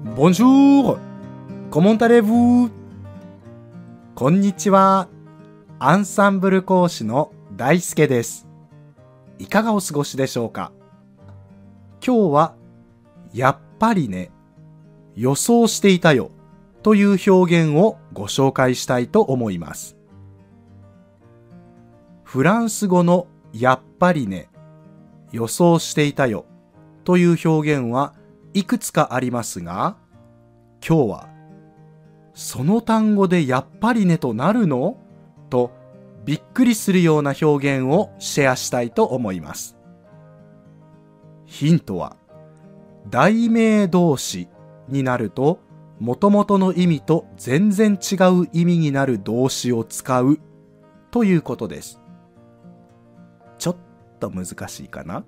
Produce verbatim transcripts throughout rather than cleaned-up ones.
Bonjour! Comment allez-vous? こんにちは。アンサンブル講師の大輔です。いかがお過ごしでしょうか？今日は、やっぱりね、予想していたよという表現をご紹介したいと思います。フランス語のやっぱりね、予想していたよという表現はいくつかありますが、今日はその単語でやっぱりねとなるの？とびっくりするような表現をシェアしたいと思います。ヒントは題名動詞になると元々の意味と全然違う意味になる動詞を使うということです。ちょっと難しいかな？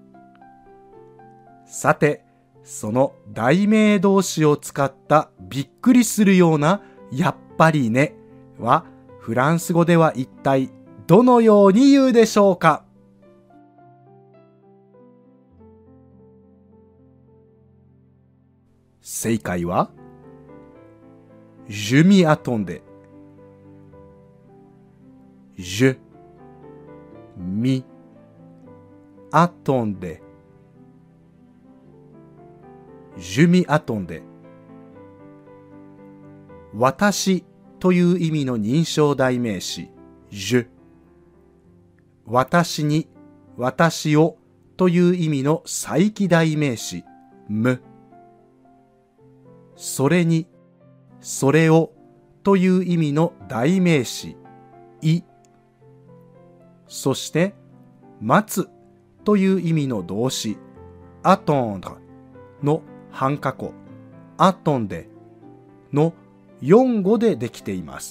さて、その題名動詞を使ったびっくりするようなやっぱりねはフランス語では一体どのように言うでしょうか？正解は Je m'y attendais. Je m'y attendais.Je m'y attendais. 私という意味の認証代名詞 Je。 私に、私をという意味の再起代名詞 Me。 それに、それをという意味の代名詞 い。そして待つという意味の動詞 attendre の半過去、アトンデのよん語でできています。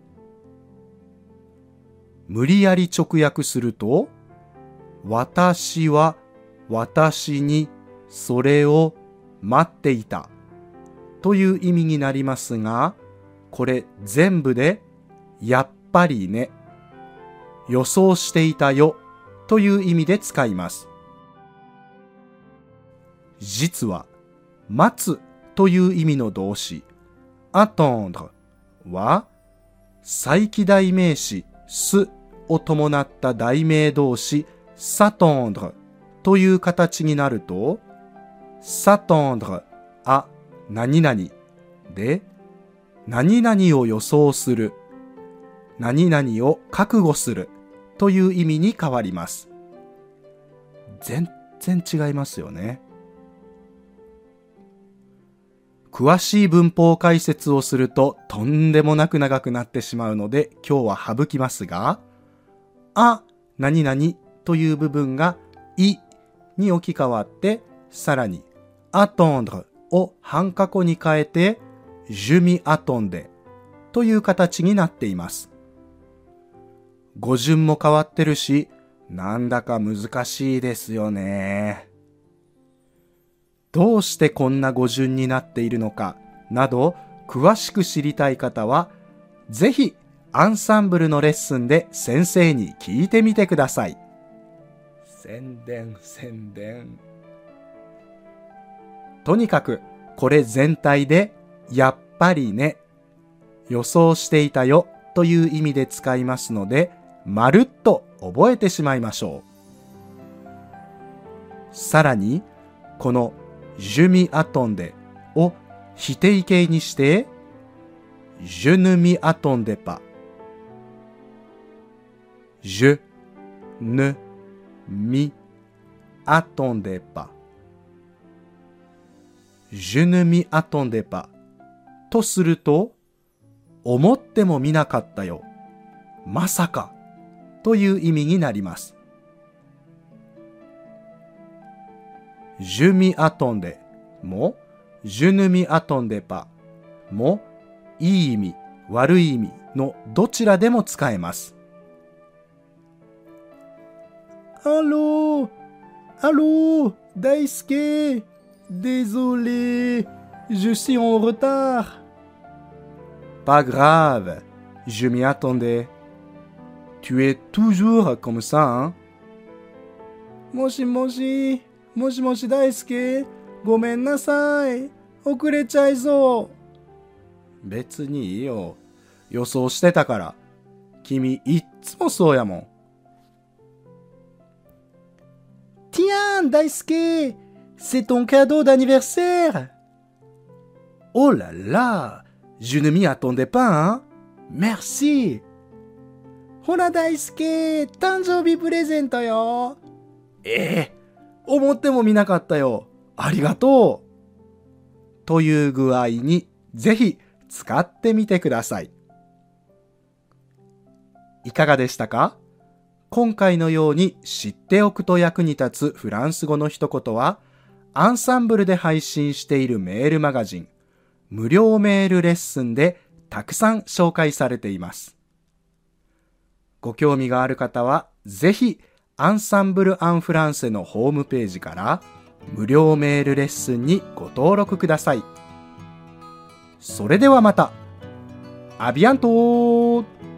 無理やり直訳すると、私は私にそれを待っていたという意味になりますが、これ全部でやっぱりね、予想していたよという意味で使います。実は待つという意味の動詞 attendre は再起代名詞すを伴った代名動詞 s'attendre という形になると s'attendre あ何々で何々を予想する、何々を覚悟するという意味に変わります。全然違いますよね。詳しい文法解説をするととんでもなく長くなってしまうので今日は省きますが、あ、何々という部分がいに置き換わって、さらに attendre を半過去に変えて Je m'y attendais という形になっています。語順も変わってるし、なんだか難しいですよね。どうしてこんな語順になっているのかなど詳しく知りたい方はぜひアンサンブルのレッスンで先生に聞いてみてください。宣伝宣伝。とにかくこれ全体でやっぱりね、予想していたよという意味で使いますのでまるっと覚えてしまいましょう。さらにこのJe m'y attendais を否定形にして Je ne m'y attendais pas。 Je ne m'y attendais pas。 Je ne m'y attendais pas とすると、思ってもみなかったよ、まさかという意味になります。Je m'y attendais も Je ne m'y attendais pas もいい意味、悪い意味のどちらでも使えます。Allô? Allô? Daisuke? Désolé, je suis en retard. Pas grave, je m'y attendais. Tu es toujours comme ça, hein? もしもし、もしもし大輔、ごめんなさい。 遅れちゃいそう。別にいいよ。予想してたから。君いっつもそうやもん。Tiens, Daisuke, c'est ton cadeau d'anniversaire. Oh là là, je ne m'y attendais pas, hein. Merci. ほら大輔、誕生日プレゼントよ。ええ、思ってもみなかったよ。ありがとう。という具合に、ぜひ使ってみてください。いかがでしたか？今回のように知っておくと役に立つフランス語の一言は、アンサンブルで配信しているメールマガジン、無料メールレッスンでたくさん紹介されています。ご興味がある方は、ぜひアンサンブル・アン・フランセのホームページから無料メールレッスンにご登録ください。それではまた。アビアントー。